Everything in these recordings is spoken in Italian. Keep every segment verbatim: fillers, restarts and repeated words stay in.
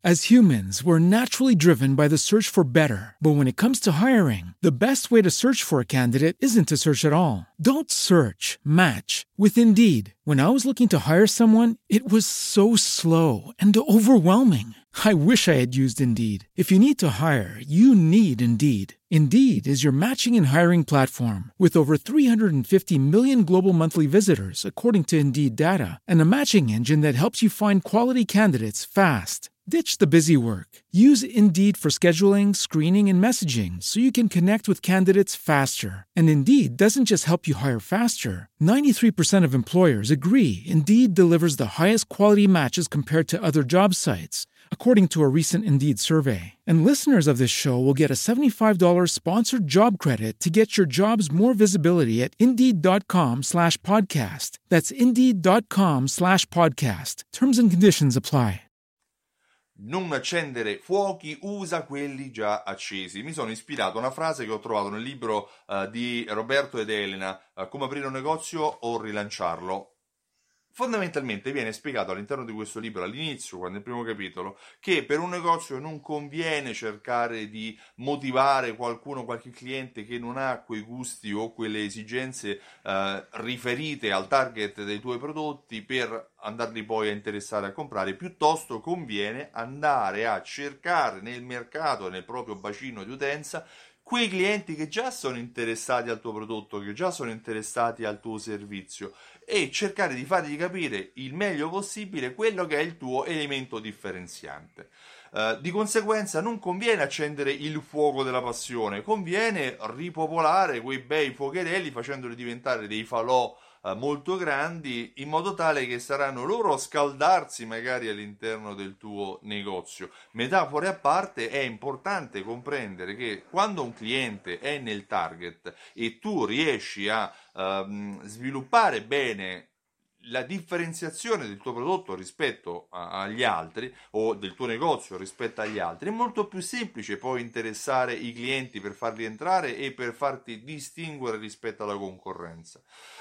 As humans, we're naturally driven by the search for better. But when it comes to hiring, the best way to search for a candidate isn't to search at all. Don't search, match with Indeed. When I was looking to hire someone, it was so slow and overwhelming. I wish I had used Indeed. If you need to hire, you need Indeed. Indeed is your matching and hiring platform with over three hundred fifty million global monthly visitors, according to Indeed data, and a matching engine that helps you find quality candidates fast. Ditch the busy work. Use Indeed for scheduling, screening, and messaging so you can connect with candidates faster. And Indeed doesn't just help you hire faster. ninety-three percent of employers agree Indeed delivers the highest quality matches compared to other job sites, according to a recent Indeed survey. And listeners of this show will get a seventy-five dollars sponsored job credit to get your jobs more visibility at Indeed.com slash podcast. That's Indeed.com slash podcast. Terms and conditions apply. Non accendere fuochi, usa quelli già accesi. Mi sono ispirato a una frase che ho trovato nel libro uh, di Roberto ed Elena, uh, Come aprire un negozio o rilanciarlo. Fondamentalmente viene spiegato all'interno di questo libro, all'inizio, quando nel primo capitolo, che per un negozio non conviene cercare di motivare qualcuno, qualche cliente che non ha quei gusti o quelle esigenze eh, riferite al target dei tuoi prodotti per andarli poi a interessare a comprare. Piuttosto conviene andare a cercare nel mercato, nel proprio bacino di utenza, quei clienti che già sono interessati al tuo prodotto, che già sono interessati al tuo servizio, e cercare di fargli capire il meglio possibile quello che è il tuo elemento differenziante. Uh, di conseguenza non conviene accendere il fuoco della passione, conviene ripopolare quei bei fuocherelli facendoli diventare dei falò uh, molto grandi, in modo tale che saranno loro a scaldarsi magari all'interno del tuo negozio. Metafore a parte, è importante comprendere che quando un cliente è nel target e tu riesci a uh, sviluppare bene la differenziazione del tuo prodotto rispetto a, agli altri, o del tuo negozio rispetto agli altri, è molto più semplice poi interessare i clienti per farli entrare e per farti distinguere rispetto alla concorrenza.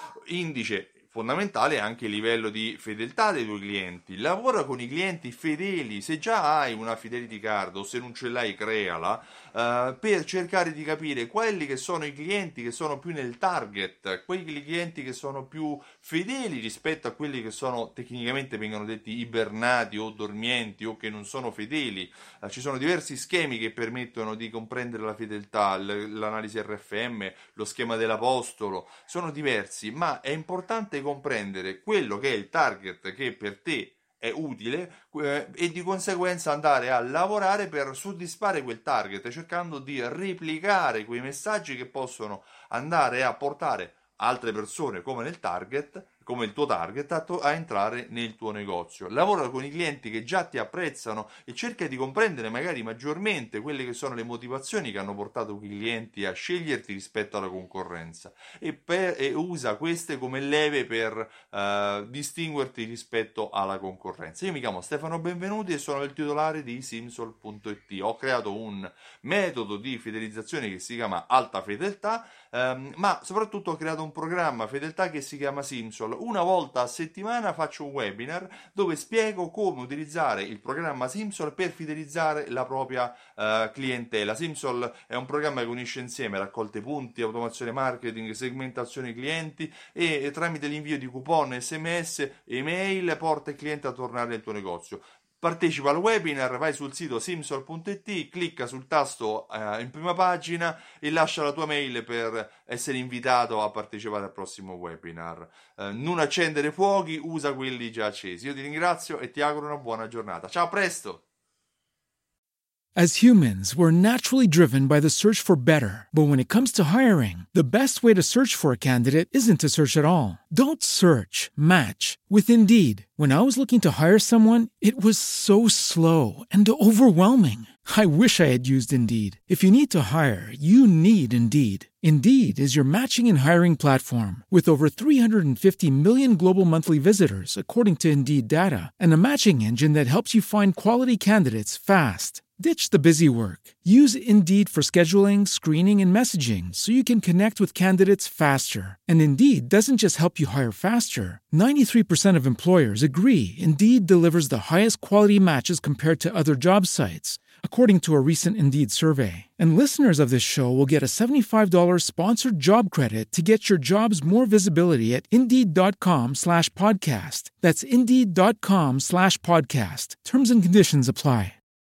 Indice fondamentale è anche il livello di fedeltà dei tuoi clienti. Lavora con i clienti fedeli. Se già hai una fidelity card o se non ce l'hai, creala, uh, per cercare di capire quelli che sono i clienti che sono più nel target, quei clienti che sono più fedeli rispetto a quelli che sono, tecnicamente vengono detti ibernati o dormienti o che non sono fedeli. Uh, ci sono diversi schemi che permettono di comprendere la fedeltà, l- l'analisi R F M, lo schema dell'apostolo, sono diversi, ma è importante comprendere quello che è il target che per te è utile eh, e di conseguenza andare a lavorare per soddisfare quel target, cercando di replicare quei messaggi che possono andare a portare altre persone come nel target, come il tuo target, a, to- a entrare nel tuo negozio. Lavora con i clienti che già ti apprezzano e cerca di comprendere magari maggiormente quelle che sono le motivazioni che hanno portato quei clienti a sceglierti rispetto alla concorrenza, e, per, e usa queste come leve per uh, distinguerti rispetto alla concorrenza. Io mi chiamo Stefano Benvenuti e sono il titolare di Simsol punto it. Ho creato un metodo di fidelizzazione che si chiama Alta Fedeltà, um, ma soprattutto ho creato un programma fedeltà che si chiama Simsol. Una volta a settimana faccio un webinar dove spiego come utilizzare il programma Simsol per fidelizzare la propria uh, clientela. Simsol è un programma che unisce insieme raccolte punti, automazione marketing, segmentazione clienti e, e tramite l'invio di coupon, sms, email porta il cliente a tornare nel tuo negozio. Partecipa al webinar, vai sul sito simsol punto it, clicca sul tasto eh, in prima pagina e lascia la tua mail per essere invitato a partecipare al prossimo webinar. Eh, non accendere fuochi, usa quelli già accesi. Io ti ringrazio e ti auguro una buona giornata. Ciao, a presto! As humans, we're naturally driven by the search for better. But when it comes to hiring, the best way to search for a candidate isn't to search at all. Don't search, match with Indeed. When I was looking to hire someone, it was so slow and overwhelming. I wish I had used Indeed. If you need to hire, you need Indeed. Indeed is your matching and hiring platform with over three hundred fifty million global monthly visitors, according to Indeed data, and a matching engine that helps you find quality candidates fast. Ditch the busy work. Use Indeed for scheduling, screening, and messaging so you can connect with candidates faster. And Indeed doesn't just help you hire faster. ninety-three percent of employers agree Indeed delivers the highest quality matches compared to other job sites, according to a recent Indeed survey. And listeners of this show will get a seventy-five dollars sponsored job credit to get your jobs more visibility at Indeed.com slash podcast. That's Indeed.com slash podcast. Terms and conditions apply.